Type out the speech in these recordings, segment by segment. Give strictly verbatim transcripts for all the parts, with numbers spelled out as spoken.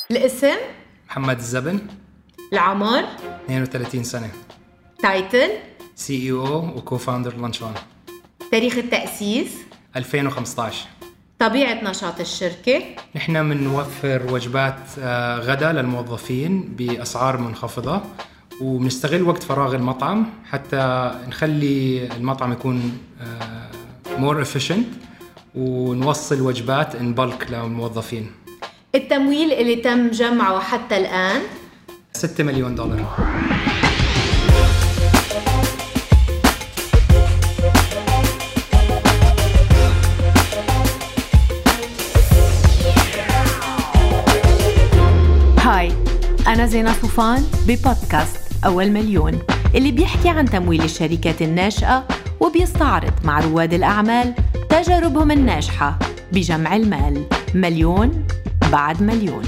الاسم؟ محمد الزبن. العمر؟ اثنين وثلاثين سنة. تايتل؟ سي اي او وكو-فاوندر لانشون. تاريخ التأسيس؟ ألفين وخمسة عشر. طبيعة نشاط الشركة؟ نحن بنوفر وجبات غدا للموظفين بأسعار منخفضة، وبنستغل وقت فراغ المطعم حتى نخلي المطعم يكون more efficient ونوصل وجبات in bulk للموظفين. التمويل اللي تم جمعه حتى الآن؟ ستة مليون دولار. هاي، أنا زينة صوفان ببودكاست أول مليون، اللي بيحكي عن تمويل الشركات الناشئة وبيستعرض مع رواد الأعمال تجاربهم الناجحة بجمع المال مليون بعد مليون.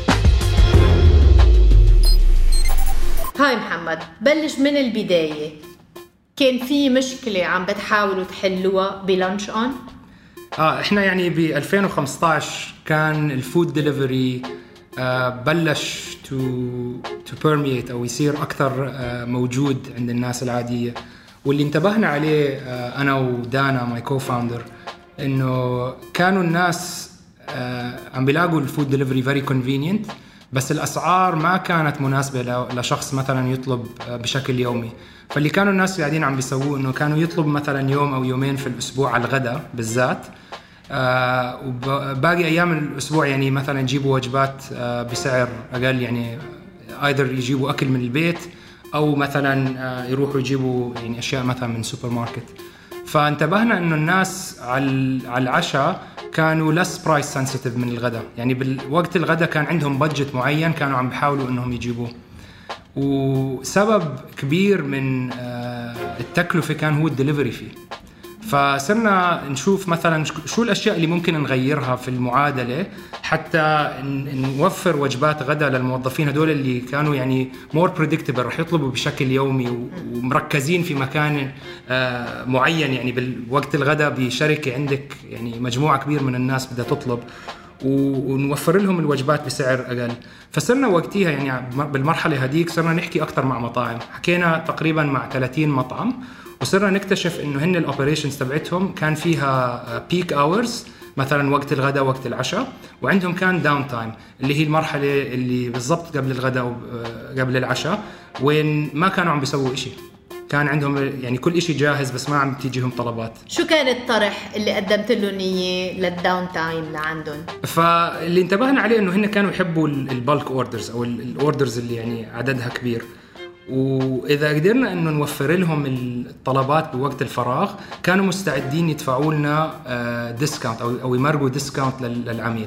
هاي محمد، بلش من البداية. كان في مشكلة عم بتحاولوا تحلوها بلانش أون؟ آه إحنا يعني ب ألفين وخمسة عشر كان الفود ديليفري آه بلش to to permeate أو يصير أكثر آه موجود عند الناس العادية، واللي انتبهنا عليه آه أنا ودانا ماي كو-فاوندر إنه كانوا الناس آه عم بيلاقوا الفود ديليفري very convenient، بس الأسعار ما كانت مناسبة لشخص مثلا يطلب بشكل يومي. فاللي كانوا الناس قاعدين عم بيسووه إنه كانوا يطلب مثلا يوم أو يومين في الأسبوع على الغداء بالذات، آه وباقي أيام الأسبوع يعني مثلا يجيبوا وجبات آه بسعر أقل، يعني either يجيبوا أكل من البيت أو مثلا آه يروحوا يجيبوا يعني أشياء مثلا من سوبر ماركت. فانتبهنا إنه الناس على العشاء كانوا less price sensitive من الغداء، يعني بالوقت الغداء كان عندهم بادجت معين كانوا عم بيحاولوا إنهم يجيبوه، وسبب كبير من التكلفة كان هو الدليفري فيه. فصرنا نشوف مثلا شو الأشياء اللي ممكن نغيرها في المعادلة حتى نوفر وجبات غدا للموظفين هدول اللي كانوا يعني more predictable، رح يطلبوا بشكل يومي ومركزين في مكان معين، يعني بالوقت الغدا بشركة عندك يعني مجموعة كبير من الناس بدها تطلب، ونوفر لهم الوجبات بسعر أقل. فصرنا وقتها يعني بالمرحلة هديك صرنا نحكي أكتر مع مطاعم، حكينا تقريبا مع ثلاثين مطعم، وصرنا نكتشف إنه هن الأوبريشنز تبعتهم كان فيها بيك أورز مثلا وقت الغداء وقت العشاء، وعندهم كان داون تايم اللي هي المرحلة اللي بالضبط قبل الغداء وقبل العشاء، وين ما كانوا عم بيسووا إشي، كان عندهم يعني كل إشي جاهز بس ما عم تيجيهم طلبات. شو كان الطرح اللي قدمت لهم إياه للداون تايم لعندهم؟ فاللي انتبهنا عليه إنه هن كانوا يحبوا البالك أوردرز أو الأوردرز اللي يعني عددها كبير، وإذا قدرنا إنه نوفر لهم الطلبات بوقت الفراغ كانوا مستعدين يدفعوا لنا ديسكاونت أو أو يمرقوا ديسكاونت للعميل.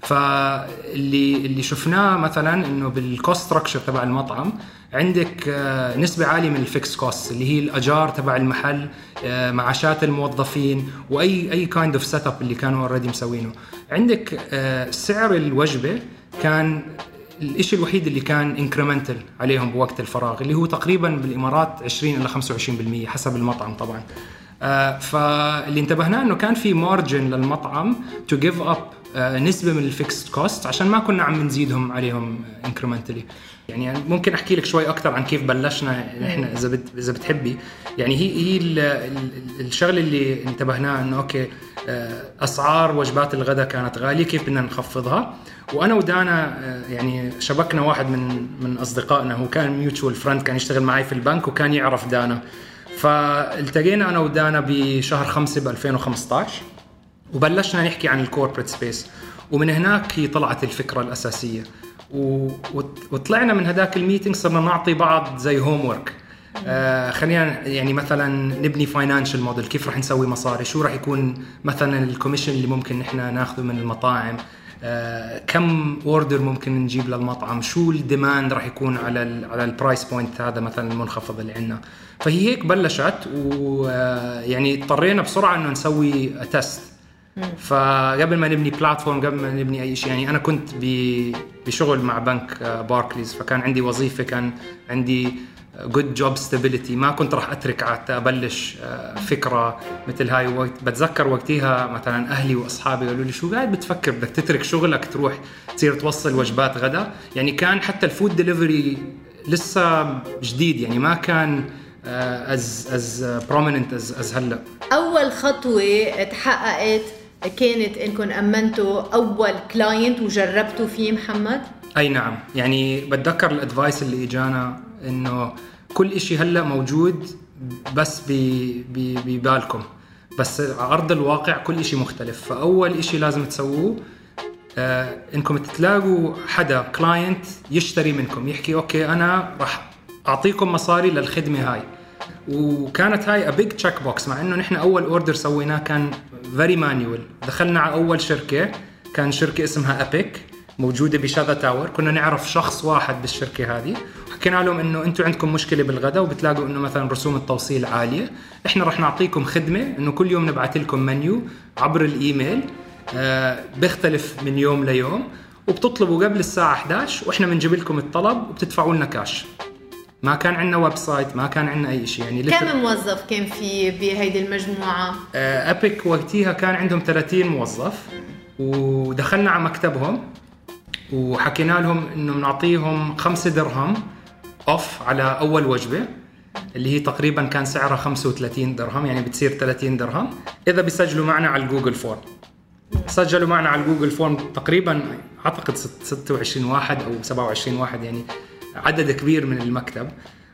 فاللي اللي شفناه مثلا إنه بالكوست ستراكشر تبع المطعم عندك نسبة عالية من الفيكس كوست اللي هي الأجار تبع المحل، معاشات الموظفين، وأي أي كايند اوف سيت اب اللي كانوا اوريدي مسوينه. عندك سعر الوجبة كان الإشي الوحيد اللي كان انكريمنتال عليهم بوقت الفراغ، اللي هو تقريبا بالإمارات عشرين إلى خمسة وعشرين بالمية حسب المطعم طبعا. آه فاللي انتبهنا إنه كان في مارجن للمطعم to give up آه نسبة من الفيكست كوست عشان ما كنا عم نزيدهم عليهم انكريمنتالي. يعني ممكن أحكي لك شوي أكتر عن كيف بلشنا إحنا إذا بت إذا بتحبي. يعني هي هي الشغلة اللي انتبهناها إنه أوكي آه أسعار وجبات الغداء كانت غالية، كيف بدنا نخفضها. وأنا ودانا يعني شبكنا واحد من من أصدقائنا، هو كان ميوتشوال فريند، كان يشتغل معي في البنك وكان يعرف دانا، فالتقينا أنا ودانا بشهر خمسة بألفين وخمسة عشر وبلشنا نحكي عن الكوربريت سبيس، ومن هناك هي طلعت الفكرة الأساسية. وطلعنا من هداك الميتينج صرنا نعطي بعض زي هوم ورك، آه خلينا يعني مثلا نبني فاينانشال موديل، كيف رح نسوي مصاري، شو رح يكون مثلا الكوميشن اللي ممكن نحنا ناخذه من المطاعم، آه كم اوردر ممكن نجيب للمطعم، شو الديماند رح يكون على ال على البرايس بوينت هذا مثلا المنخفض اللي عندنا. فهي هيك بلشت، ويعني اضطرينا بسرعه انه نسوي تيست. فقبل ما نبني بلاتفورم، قبل ما نبني اي شيء، يعني انا كنت بشغل مع بنك باركليز، فكان عندي وظيفه، كان عندي good job stability. ما كنت راح أترك حتى أبلش فكرة مثل هاي. وقت بتذكر وقتها مثلا أهلي وأصحابي قالوا لي شو قاعد بتفكر، بدك تترك شغلك تروح تصير توصل وجبات غدا؟ يعني كان حتى الفود ديليفري لسه جديد، يعني ما كان as as prominent as as هلا. أول خطوة تحققت كانت إنكم أمنتوا أول كلاينت وجربتوا فيه محمد؟ أي نعم، يعني بتذكر الأدفايس اللي إجانا إنه كل إشي هلأ موجود بس ببالكم، بس على أرض الواقع كل إشي مختلف. فأول إشي لازم تسووه آه إنكم تلاقوا حدا كلاينت يشتري منكم، يحكي أوكي أنا راح أعطيكم مصاري للخدمة هاي. وكانت هاي a big check box، مع إنه نحن أول أوردر سويناه كان very manual. دخلنا على أول شركة، كان شركة اسمها أبيك موجودة بشذا تاور. كنا نعرف شخص واحد بالشركة هذه، حكينا لهم إنه أنتوا عندكم مشكلة بالغداء وبتلاقوا إنه مثلا رسوم التوصيل عالية، إحنا رح نعطيكم خدمة إنه كل يوم نبعث لكم منيو عبر الإيميل آه بيختلف من يوم ليوم، وبتطلبوا قبل الساعة إحدى عشر وإحنا بنجيب لكم الطلب وبتدفعوا لنا كاش. ما كان عندنا ويب سايت، ما كان عندنا أي شيء. يعني كم موظف كان في بهيدي المجموعة؟ آه أبيك وقتها كان عندهم ثلاثين موظف. ودخلنا على مكتبهم وحكينا لهم إنه بنعطيهم خمسة درهم أوف على أول وجبة، اللي هي تقريبا كان سعرها خمسة وثلاثين درهم، يعني بتصير ثلاثين درهم إذا بيسجلوا معنا على الجوجل فورم. سجلوا معنا على الجوجل فورم تقريبا أعتقد ستة وعشرين واحد أو سبعة وعشرين واحد، يعني عدد كبير من المكتب.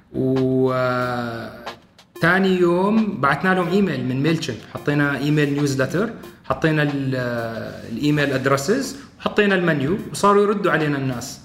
وثاني يوم بعثنا لهم إيميل من ميلشن، حطينا إيميل نيوزلتر، حطينا الإيميل أدرسز، حطينا المنيو، وصاروا يردوا علينا الناس.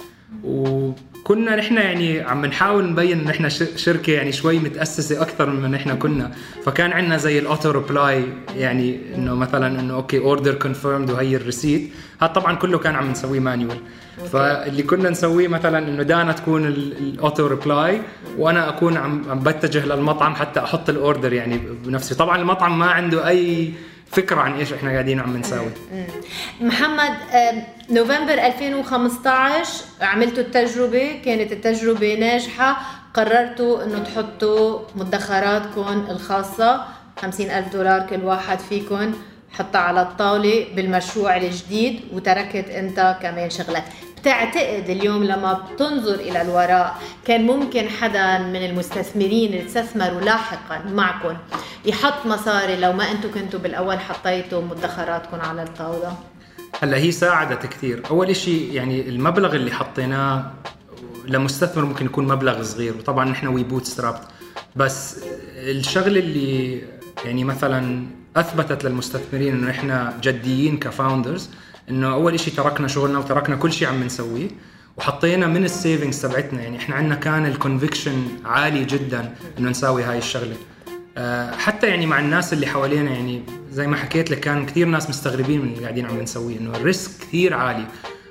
وكنا نحن يعني عم نحاول نبين ان احنا شركه يعني شوي متاسسه اكثر من نحن كنا. فكان عندنا زي الاوتو ريبلاي، يعني انه مثلا انه اوكي اوردر كونفيرمد وهي الريسيت. هذا طبعا كله كان عم نسويه مانيوال. فاللي كنا نسويه مثلا انه دانا تكون الاوتو ريبلاي وانا اكون عم عم بتجه للمطعم حتى احط الاوردر يعني بنفسي. طبعا المطعم ما عنده اي فكرة عن إيش إحنا قاعدين عم نساوي. محمد، نوفمبر ألفين وخمسة عشر عملتوا التجربة، كانت التجربة ناجحة، قررتوا إنه تحطوا مدخراتكم الخاصة خمسين ألف دولار كل واحد فيكم حطها على الطاولة بالمشروع الجديد، وتركت أنت كمان شغلك. تعتقد اليوم لما بتنظر إلى الوراء كان ممكن حدا من المستثمرين اللي استثمروا لاحقا معكم يحط مصاري لو ما أنتوا كنتوا بالأول حطيتوا مدخراتكم على الطاولة؟ هلا هي ساعدت كثير. أول إشي يعني المبلغ اللي حطيناه لمستثمر ممكن يكون مبلغ صغير، وطبعا نحن وي بوت سترابت، بس الشغل اللي يعني مثلا أثبتت للمستثمرين إنه إحنا جديين كفاوندرز، إنه أول إشي تركنا شغلنا وتركنا كل شيء عم نسويه وحطينا من السيفينجز تبعتنا. يعني إحنا عندنا كان الكونفيكشن عالي جدا إنه نساوي هاي الشغلة. أه حتى يعني مع الناس اللي حوالينا، يعني زي ما حكيت لك كان كثير ناس مستغربين من اللي قاعدين عم نسويه، إنه الريسك كثير عالي.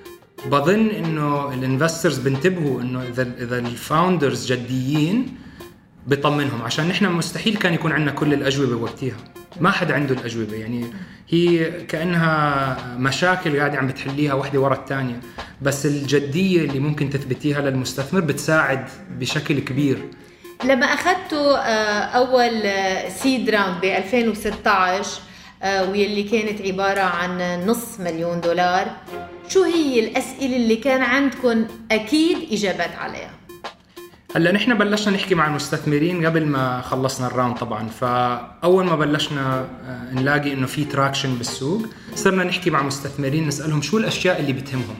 بظن إنه الانفسترز بنتبهوا إنه إذا إذا الفاوندرز جديين بيطمنهم، عشان نحن مستحيل كان يكون عندنا كل الأجوبة وقتها، ما حد عنده الأجوبة. يعني هي كأنها مشاكل قاعدة عم بتحليها واحدة ورا الثانية، بس الجدية اللي ممكن تثبتيها للمستثمر بتساعد بشكل كبير. لما أخذتوا أول سيد راوند ب ألفين وستة عشر واللي كانت عبارة عن نص مليون دولار، شو هي الأسئلة اللي كان عندكم أكيد إجابات عليها؟ هلا نحن بلشنا نحكي مع المستثمرين قبل ما خلصنا الراوند طبعا. فاول ما بلشنا نلاقي انه في تراكشن بالسوق، صرنا نحكي مع مستثمرين نسالهم شو الاشياء اللي بتهمهم.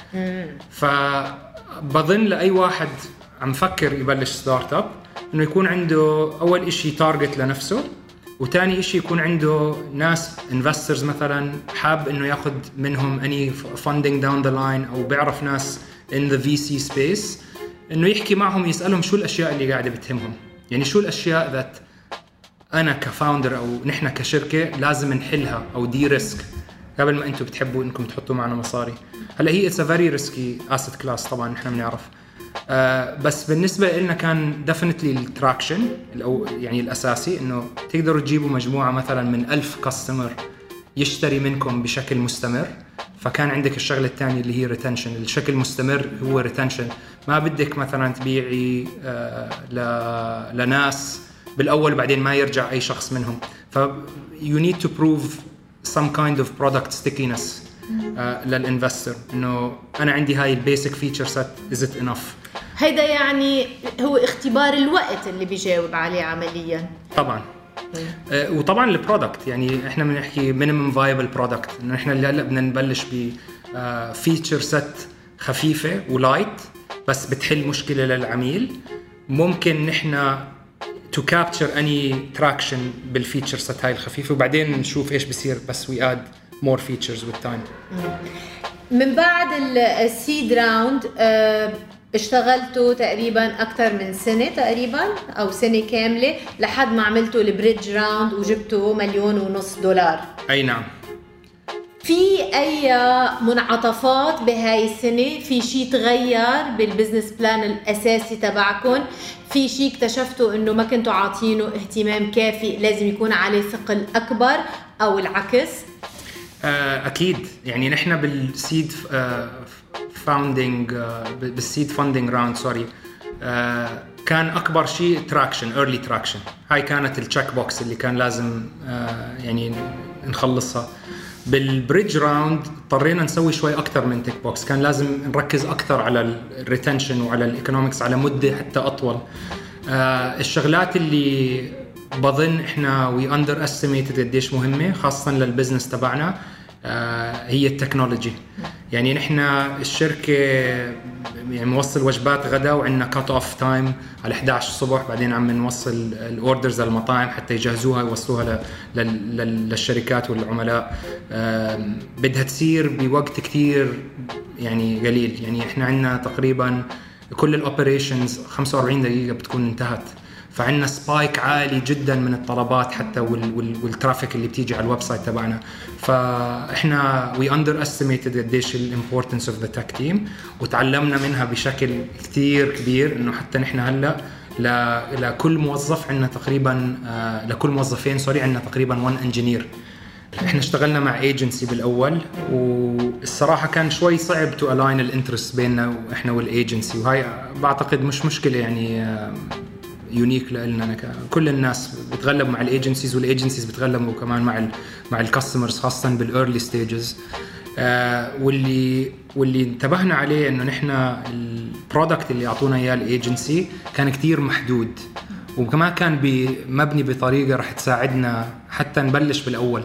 فبظن لاي واحد عم فكر يبلش ستارت اب انه يكون عنده اول إشي تارجت لنفسه، وتاني إشي يكون عنده ناس انفسترز مثلا حاب انه ياخذ منهم اني فاندنج داون ذا لاين، او بيعرف ناس ان ذا في سي سبيس انه يحكي معهم يسالهم شو الاشياء اللي قاعده بتهمهم. يعني شو الاشياء ذات انا كفاوندر او نحن كشركه لازم نحلها او دي ريسك قبل ما انتم بتحبوا انكم تحطوا معنا مصاري. هلا هي اتس ا فيري ريسكي اسيت كلاس طبعا نحن بنعرف، آه بس بالنسبه لنا كان ديفينتلي التراكشن او يعني الاساسي انه تقدروا تجيبوا مجموعه مثلا من ألف كاستمر يشتري منكم بشكل مستمر. فكان عندك الشغله الثانيه اللي هي ريتنشن، الشكل مستمر هو ريتنشن. ما بدك مثلا تبيعي آه لناس بالاول بعدين ما يرجع اي شخص منهم. ف you need to prove some kind of product stickiness آه للانفستر، انه انا عندي هاي البيسك فيتشر سيت is it enough. هيدا يعني هو اختبار الوقت اللي بيجاوب عليه عمليا. طبعا آه وطبعا البرودكت، يعني احنا بنحكي minimum viable product، انه احنا اللي هلا بدنا نبلش ب فيتشر سيت خفيفه ولايت بس بتحل مشكله للعميل. ممكن نحن to capture any traction بالفيتشر سيت هاي الخفيفه، وبعدين نشوف ايش بصير بس we add more features with time. من بعد السيد راوند اشتغلتوا تقريبا أكثر من سنة تقريبا أو سنة كاملة لحد ما عملتوا البريدج راوند وجبتوا مليون ونص دولار. أي نعم. في أي منعطفات بهاي السنة؟ في شيء تغير بالبزنس بلان الأساسي تبعكم؟ في شيء اكتشفتوا إنه ما كنتوا عاطينه اهتمام كافي لازم يكون عليه ثقل أكبر أو العكس؟ أكيد، يعني نحن بالسيد فاوندينج بالسيد فاندينج راوند سوري كان أكبر شيء تراكشن، ايرلي تراكشن. هاي كانت التشيك بوكس اللي كان لازم يعني نخلصها. بالبريدج راوند اضطرينا نسوي شوي أكتر من تيك بوكس، كان لازم نركز أكتر على الريتنشن وعلى الإيكونومكس على مدة حتى أطول. الشغلات اللي بظن إحنا وي أندر أستيميتد قديش مهمة خاصة للبزنس تبعنا هي التكنولوجي. يعني نحن الشركة يعني موصل وجبات غدا وعندنا كات اوف تايم على إحدى عشر الصبح، بعدين عم نوصل الاوردرز للمطاعم حتى يجهزوها يوصلوها للشركات والعملاء. بدها تصير بوقت كتير يعني قليل. يعني احنا عندنا تقريبا كل الاوبريشنز خمسة وأربعين دقيقة بتكون انتهت، فعندنا سبايك عالي جدا من الطلبات حتى والترافيك اللي بتيجي على الويب سايت تبعنا. فاحنا we underestimated قديش الامبورتنس اوف ذا تك تيم، وتعلمنا منها بشكل كتير كبير. انه حتى نحن هلا لكل موظف عندنا تقريبا لكل موظفين سوري عندنا تقريبا one انجينير. احنا اشتغلنا مع ايجنسي بالاول، والصراحه كان شوي صعب تو الاين الانترست بيننا واحنا والايجنسي، وهي بعتقد مش مشكله يعني يونيك لنا. كل الناس بتغلب مع الايجنسيز، والايجنسيز بتغلبوا كمان مع ال مع الكاستمرز خاصه بالايرلي ستيجز. آه واللي واللي انتبهنا عليه انه نحن البرودكت اللي اعطونا اياه الايجنسي كان كتير محدود، وكمان كان مبني بطريقه رح تساعدنا حتى نبلش بالاول.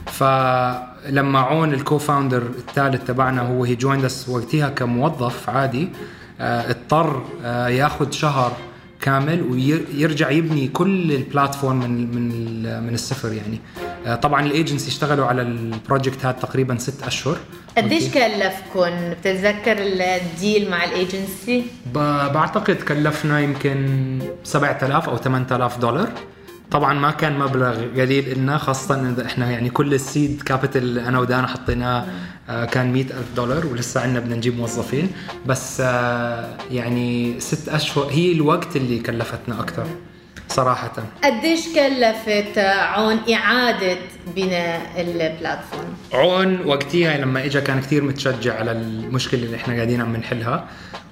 فلما عون الكو-فاوندر الثالث تبعنا هو هي جويند اس وقتها كموظف عادي، آه اضطر آه ياخذ شهر كامل ويرجع يبني كل البلاتفورم من من من الصفر. يعني طبعا الايجنسي اشتغلوا على البروجكت هذا تقريبا ست اشهر. قديش كلفكم؟ بتتذكر الديل مع الايجنسي؟ بعتقد كلفنا يمكن سبعة آلاف او ثمانية آلاف دولار. طبعا ما كان مبلغ قليل لنا، خاصه ان احنا يعني كل السيد كابيتال انا ودانا حطيناه كان مئة ألف دولار، ولسه عندنا بدنا نجيب موظفين. بس يعني ست اشهر هي الوقت اللي كلفتنا اكثر صراحه. قديش كلفت عون اعاده بناء البلاتفورم؟ عون وقتها لما اجى كان كثير متشجع على المشكله اللي احنا قاعدين عم نحلها،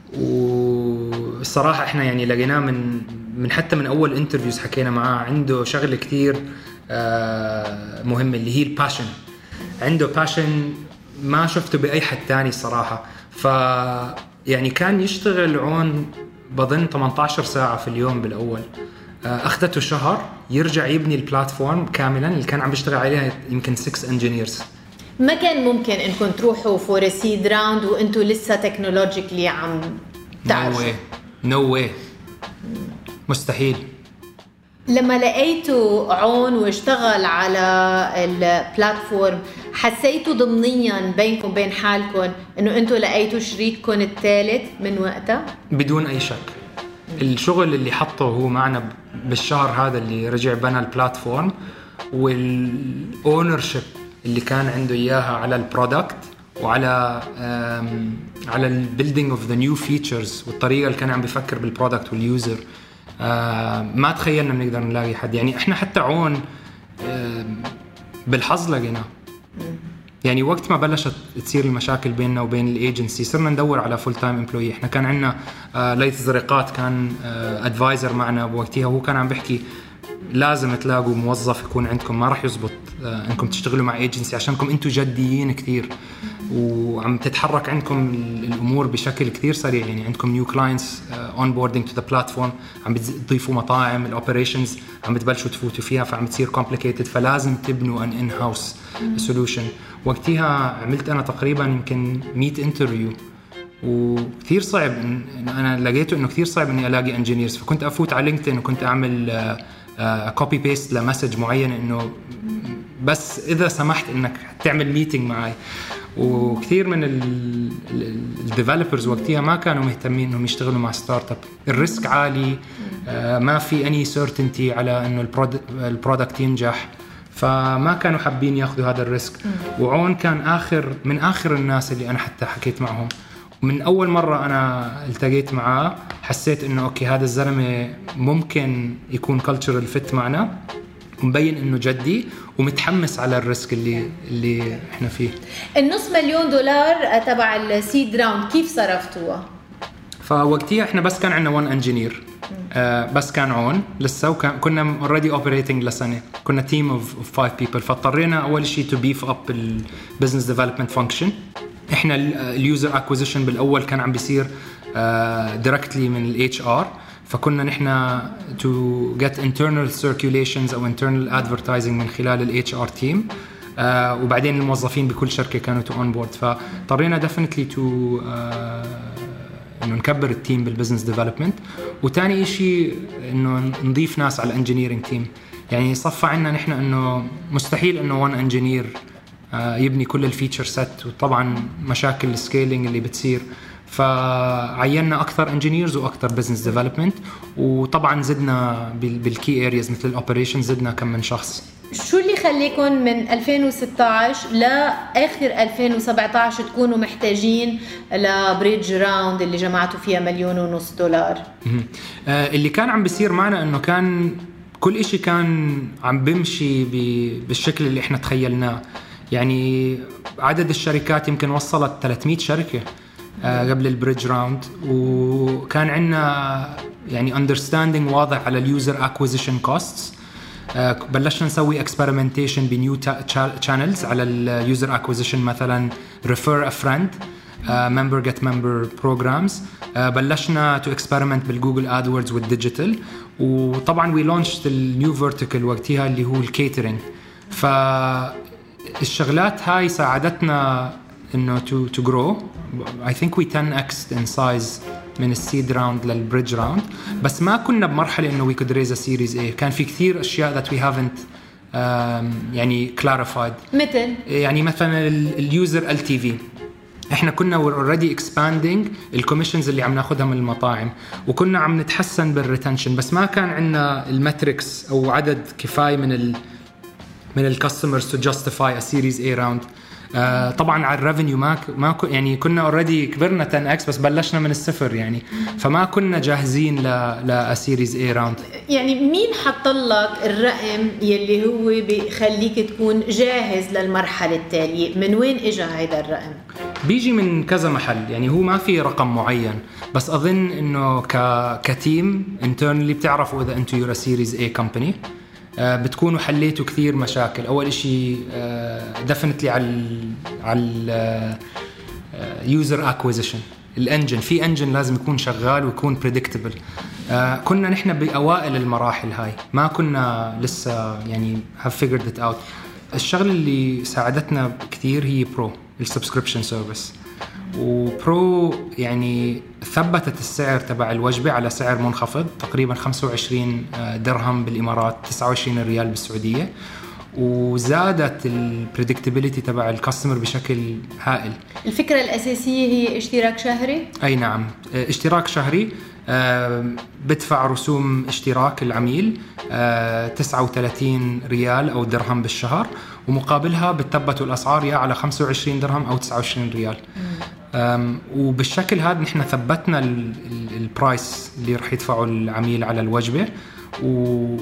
والصراحه احنا يعني لقيناه من من حتى من اول انترفيوز حكينا معاه عنده شغله كثير مهمه اللي هي الباشن. عنده باشن ما شفته باي حد تاني الصراحه. ف يعني كان يشتغل عون بظن ثمانية عشر ساعه في اليوم بالاول، اخذته شهر يرجع يبني البلاتفورم كاملا اللي كان عم بيشتغل عليها يمكن ستة انجينيرز. ما كان ممكن انكم تروحوا فور سيد راوند وانتم لسه تكنولوجيكلي عم تعرفوا؟ نو واي نو واي مستحيل. لما لقيتوا عون واشتغل على البلاتفورم حسيتوا ضمنيا بينكم بين حالكم انه انتم لقيتوا شريككم الثالث من وقتها؟ بدون اي شك. الشغل اللي حطه هو معنا بالشهر هذا اللي رجع بنى البلاتفورم، والاونرشيب اللي كان عنده اياها على البرودكت وعلى على البيلدينج اوف ذا نيو فيتشرز، والطريقه اللي كان عم بيفكر بالبرودكت واليوزر. ما تخيلنا بنقدر نلاقي حد. يعني احنا حتى عون بالحظ لقيناه. يعني وقت ما بلشت تصير المشاكل بيننا وبين الايجنسي صرنا ندور على فول تايم امبلوي. احنا كان عندنا آه ليث زرقات كان ادفايزر آه معنا بوقتها، وهو كان عم بيحكي لازم تلاقوا موظف يكون عندكم، ما راح يزبط آه انكم تشتغلوا مع ايجنسي عشانكم انتم جديين كثير وعم تتحرك عندكم الامور بشكل كثير سريع. يعني عندكم نيو كلاينتس اون بوردينج تو ذا بلاتفورم، عم بتضيفوا مطاعم، الاوبريشنز عم بتبلشوا تفوتوا فيها، فعم تصير كومبليكيتد، فلازم تبنوا ان ان هاوس سولوشن. وقتها عملت انا تقريبا يمكن مية انترفيو، وكثير صعب إن انا لقيته انه كثير صعب اني الاقي انجينيرز. فكنت افوت على لينكدين وكنت اعمل كوبي بيست لمسج معين انه بس اذا سمحت انك تعمل ميتينج معي. وكثير من الديفلوبرز وقتها ما كانوا مهتمين انهم يشتغلوا مع ستارت اب، الريسك عالي، ما في اني سيرتينتي على انه البرودكت ينجح، فما كانوا حابين ياخذوا هذا الريسك. وعون كان اخر من اخر الناس اللي انا حتى حكيت معهم. من اول مره انا التقيت معاه حسيت انه اوكي هذا الزلمه ممكن يكون كلتشرال فيت معنا، مبين انه جدي ومتحمس على الريسك اللي اللي احنا فيه. النص مليون دولار تبع السيد راوند كيف صرفتوها؟ فوقتها احنا بس كان عندنا وان انجينير آه بس كان عون لسه، وكان كنا اوريدي اوبريتنج لسنه، كنا تيم اوف فايف بيبل. فاضطرينا اول شيء تو بيف اب البزنس ديفلوبمنت فانكشن. احنا اليوزر اكوزيشن بالاول كان عم بيصير دايركتلي من الاتش ار، فكنا نحن to get internal circulations أو internal advertising من خلال ال إتش آر team، آه وبعدين الموظفين بكل شركة كانوا to onboard. فاضطرينا definitely to آه إنه نكبر التيم بالبزنس ديفلوبمنت. وتاني إشي إنه نضيف ناس على الانجينيرينج تيم. يعني صفى عنا نحن إنه مستحيل إنه وان انجينير آه يبني كل الفيتشر سيت، وطبعا مشاكل السكيلينج اللي بتصير، فعيننا اكثر انجينيرز واكثر بزنس ديفلوبمنت. وطبعا زدنا بالكي ارياز مثل الاوبريشن زدنا كم من شخص. شو اللي خليكم من ألفين وستة عشر لاخر ألفين وسبعة عشر تكونوا محتاجين لبريدج راوند اللي جمعتوا فيها مليون ونص دولار؟ آه اللي كان عم بيصير معنا انه كان كل إشي كان عم بمشي بالشكل اللي احنا تخيلناه. يعني عدد الشركات يمكن وصلت ثلاثمية شركة قبل البريدج راوند، وكان عندنا يعني understanding واضح على اليوزر اكوزيشن كوستس. بلشنا نسوي experimentation بنيو channels على اليوزر اكوزيشن، مثلا refer a friend، member get member programs. بلشنا to experiment بالجوجل ادوردز والديجيتال. وطبعا we launched النيو vertical وقتها اللي هو الكيترينج. فالشغلات هاي ساعدتنا إنه to to grow. I think we ten x in size من السيد راوند للبريدج راوند، بس ما كنا بمرحلة إنه we could raise a series A. كان في كثير أشياء that we haven't um, يعني clarified. مثل يعني مثلا اليوزر إل تي في إحنا كنا we're already expanding الكوميشنز اللي عم ناخدها من المطاعم، وكنا عم نتحسن بالريتنشن، بس ما كان عندنا الماتريكس أو عدد كفاية من ال من الكاستمرز to justify a series A round. آه طبعا على الريفينيو ما ما يعني كنا اوريدي كبرنا ten x بس بلشنا من الصفر يعني، فما كنا جاهزين ل ل سيريز اي راوند. يعني مين حط لك الرقم يلي هو بيخليك تكون جاهز للمرحله التاليه؟ من وين اجى هذا الرقم؟ بيجي من كذا محل، يعني هو ما في رقم معين، بس اظن انه ك كتيم انترنالي بتعرفوا اذا انتم يورا سيريز اي كومباني بتكونوا حليتوا كثير مشاكل. أول إشي definitely على على user acquisition، الانجن في انجن لازم يكون شغال ويكون predictable. كنا نحن بأوائل المراحل هاي، ما كنا لسه يعني have figured it out. الشغل اللي ساعدتنا كثير هي برو السبسكريبشن سيرفيس. وبرو يعني ثبتت السعر تبع الوجبة على سعر منخفض تقريبا خمسة وعشرين درهم بالإمارات، تسعة وعشرين ريال بالسعودية، وزادت البريدكتابيليتي تبع الكاستمر بشكل هائل. الفكرة الأساسية هي اشتراك شهري؟ أي نعم، اشتراك شهري. بدفع رسوم اشتراك العميل تسعة وثلاثين ريال أو درهم بالشهر، ومقابلها بتثبتوا الأسعار يا على خمسة وعشرين درهم أو تسعة وعشرين ريال. وبالشكل هذا نحن ثبتنا البرايس اللي رح يدفعه العميل على الوجبة. و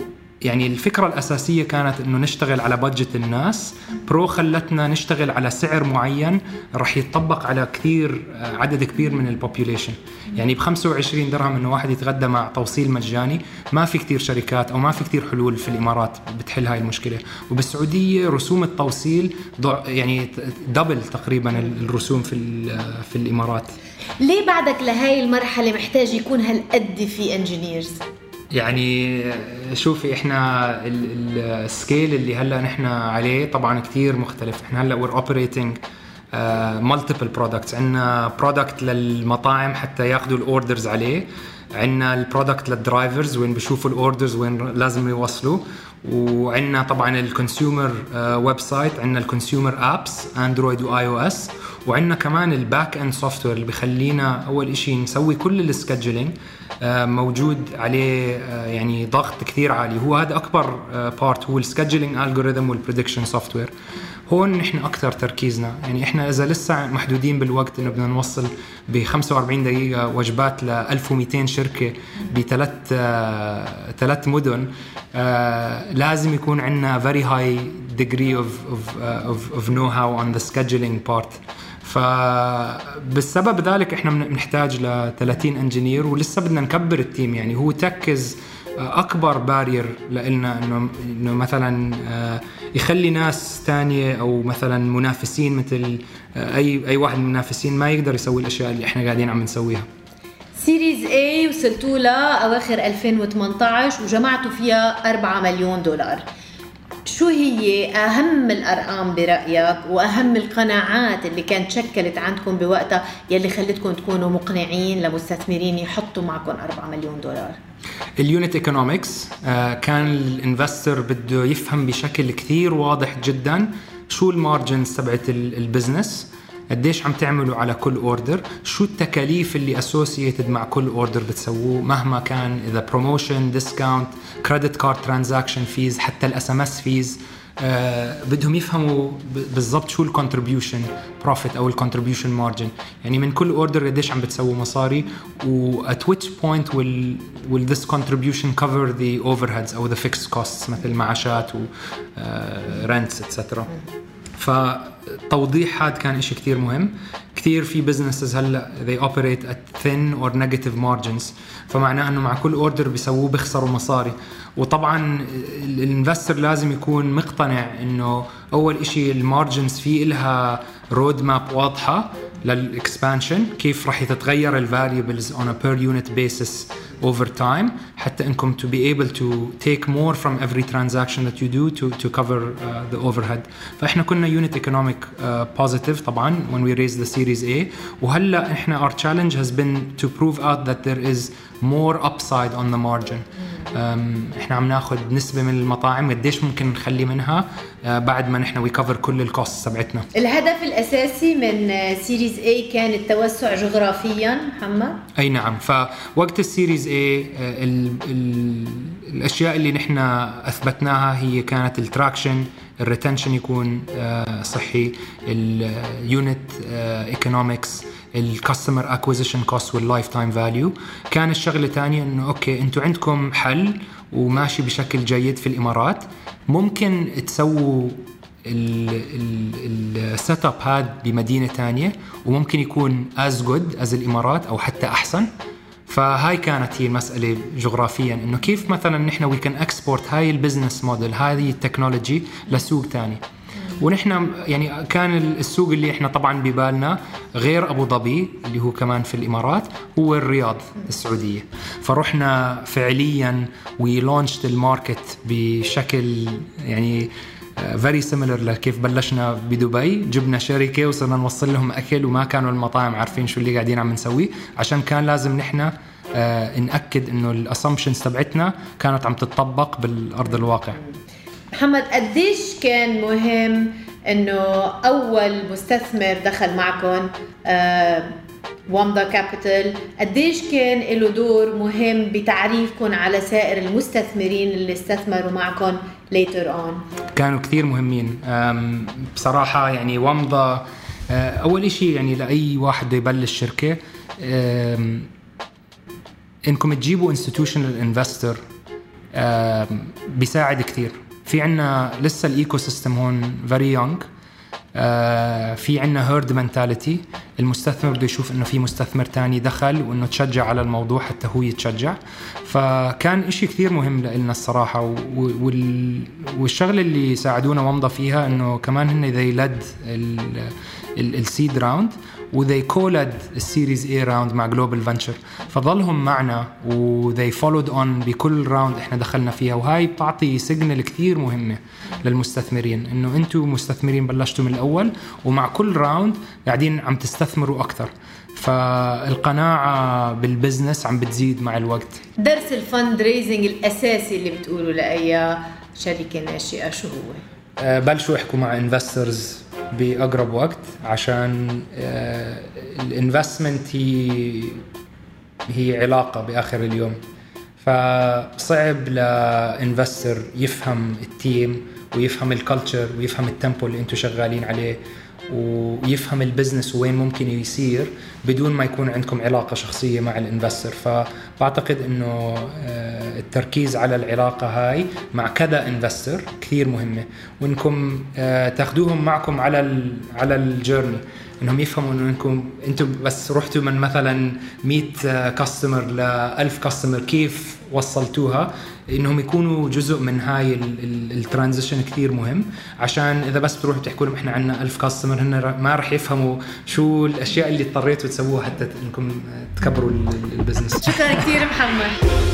يعني الفكرة الأساسية كانت إنه نشتغل على بادجت الناس. برو خلتنا نشتغل على سعر معين رح يتطبق على كثير عدد كبير من البوبوليشن. يعني بخمسة وعشرين درهم إنه واحد يتغدى مع توصيل مجاني، ما في كثير شركات أو ما في كثير حلول في الإمارات بتحل هاي المشكلة. وبالسعودية رسوم التوصيل يعني دبل تقريبا الرسوم في في الإمارات. ليه بعدك لهاي المرحلة محتاج يكون هالقد في انجينيرز؟ يعني شوفي احنا السكيل اللي هلا نحن عليه طبعا كتير مختلف. احنا هلا we're operating uh, multiple products. عندنا product للمطاعم حتى ياخذوا الاوردرز عليه، عندنا البرودكت للدرايفرز وين بيشوفوا الاوردرز وين لازم يوصلوا، وعندنا طبعا الكونسيومر ويب سايت، عندنا الكونسيومر ابس اندرويد واي او اس، وعندنا كمان الباك اند سوفت وير اللي بخلينا اول إشي نسوي كل السكادجولينج موجود عليه يعني ضغط كثير عالي. هو هذا اكبر بارت، هو السكادجولينج الجوريثم والبريدكشن سوفت وير. هون نحن اكثر تركيزنا. يعني احنا اذا لسه محدودين بالوقت انه بدنا نوصل ب خمسة وأربعين دقيقه وجبات ل ألف ومئتين شركه بثلاث ثلاث مدن، آه لازم يكون عندنا very high degree of of of, of know-how on the scheduling part. فبالسبب ذلك احنا بنحتاج ل ثلاثين انجينير ولسه بدنا نكبر التيم. يعني هو تركز اكبر بارير لنا انه انه مثلا يخلي ناس تانية او مثلا منافسين مثل اي اي واحد من المنافسين ما يقدر يسوي الاشياء اللي احنا قاعدين عم نسويها. سيريز A وصلتوا لها اواخر ألفين وثمانية عشر وجمعتوا فيها أربعة مليون دولار. شو هي أهم الأرقام برأيك وأهم القناعات اللي كانت شكلت عندكم بوقتها يلي خلتكم تكونوا مقنعين لمستثمرين يحطوا معكم أربعة مليون دولار؟ اليونت ايكونومكس. كان الانفستر بده يفهم بشكل كثير واضح جدا شو المارجنز تبعت البزنس، قديش عم تعملوا على كل اوردر، شو التكاليف اللي اسوسييتد مع كل اوردر بتسووه مهما كان، اذا بروموشن، ديسكاونت، كريدت كارد ترانزاكشن فيز، حتى الاس ام اس فيز. آه بدهم يفهموا بالضبط شو الكونتريبيوشن بروفيت او الكونتريبيوشن مارجن، يعني من كل اوردر قديش عم بتسووا مصاري، و at which point will will this contribution cover the overheads او the fixed costs مثل معاشات و rents et cetera. فتوضيح هذا كان إشي كتير مهم. كتير في businesses هلا they operate at thin or negative margins، فمعناه انه مع كل اوردر بيسووه بيخسروا مصاري. وطبعا الانفستر لازم يكون مقتنع انه اول إشي المارجنز فيه لها رود ماب واضحه للاكسبانشن، كيف راح يتغير الفاريبلز on a per unit basis over time حتى انكم to be able to take more from every transaction that you do to to cover uh, the overhead. فاحنا كنا unit economic uh, positive طبعا when we raised the series A. وهلا احنا our challenge has been to prove out that there is more upside on the margin. um, احنا عم ناخذ نسبة من المطاعم قديش ممكن نخلي منها uh, بعد ما نحن we cover كل الكوست تبعتنا. الهدف الأساسي من سيريز A كان التوسع جغرافيا محمد؟ أي نعم. فوقت السيريز A ال ال الأشياء اللي نحن أثبتناها هي كانت التراكشن، الريتنشن يكون صحي، اليونت ايكونومكس، الكاستمر اكوزيشن كوست واللايف تايم فاليو. كان الشغله الثانيه انه اوكي انتم عندكم حل وماشي بشكل جيد في الامارات، ممكن تسووا السيت اب هذا بمدينه ثانيه وممكن يكون as good as الامارات او حتى احسن. فهاي كانت هي المسألة جغرافيا، إنه كيف مثلا نحن we can export هاي البزنس موديل، هذه التكنولوجي لسوق تاني. ونحن يعني كان السوق اللي احنا طبعا ببالنا غير أبو ظبي اللي هو كمان في الإمارات، هو الرياض السعودية. فرحنا فعليا we launched الماركت بشكل يعني very similar لكيف بلشنا بدبي. جبنا شركة وصرنا نوصل لهم أكل وما كانوا المطاعم عارفين شو اللي قاعدين عم نسويه، عشان كان لازم نحن آه نأكد إنه الأسامبشنز تبعتنا كانت عم تتطبق بالأرض الواقع. محمد، قديش كان مهم إنه أول مستثمر دخل معكم آه وامدا كابيتال، قديش كان له دور مهم بتعريفكم على سائر المستثمرين اللي استثمروا معكم later on؟ كانوا كثير مهمين بصراحة. يعني وامدا أول إشي يعني لأي واحد يبلش شركة إنكم تجيبوا institutional investor بيساعد كتير. في عنا لسه الإيكو سيستم هون very young. آه في عنا هيرد منتاليتي، المستثمر بده يشوف انه في مستثمر تاني دخل وانه تشجع على الموضوع حتى هو يتشجع. فكان اشي كثير مهم لنا الصراحة. والشغل اللي ساعدونا ومضى فيها انه كمان هن they led السيد راوند و they co-led السيريز A راوند مع جلوبال فنتشر، فظلهم معنا و they followed on بكل راوند احنا دخلنا فيها. وهاي بتعطي سيجنال كثير مهمة للمستثمرين انه انتم مستثمرين بلشتوا من الاول ومع كل راوند قاعدين عم تستثمروا اكثر. فالقناعة بالبزنس عم بتزيد مع الوقت. درس الفند ريزنج الاساسي اللي بتقولوا لأي شركة ناشئة شو هو؟ أه بلشوا يحكوا مع انفسترز بأقرب وقت، عشان الانفستمنت هي هي علاقة بآخر اليوم. فصعب لانفستر يفهم التيم ويفهم الكالتشر ويفهم التمبو اللي انتو شغالين عليه ويفهم البزنس وين ممكن يصير بدون ما يكون عندكم علاقة شخصية مع الانفستر. فبعتقد انه التركيز على العلاقة هاي مع كذا انفستر كثير مهمة، وانكم تاخدوهم معكم على على الجيرني، انهم يفهموا انه انكم انتم بس رحتوا من مثلا مية كاستمر ل ألف كاستمر كيف وصلتوها، انهم يكونوا جزء من هاي الترانزيشن كثير مهم. عشان اذا بس بتروحوا بتحكوا لهم احنا عندنا ألف كاستمر، هن ما رح يفهموا شو الاشياء اللي اضطريتوا تسووها حتى انكم تكبروا البزنس. شكرا كثير محمد.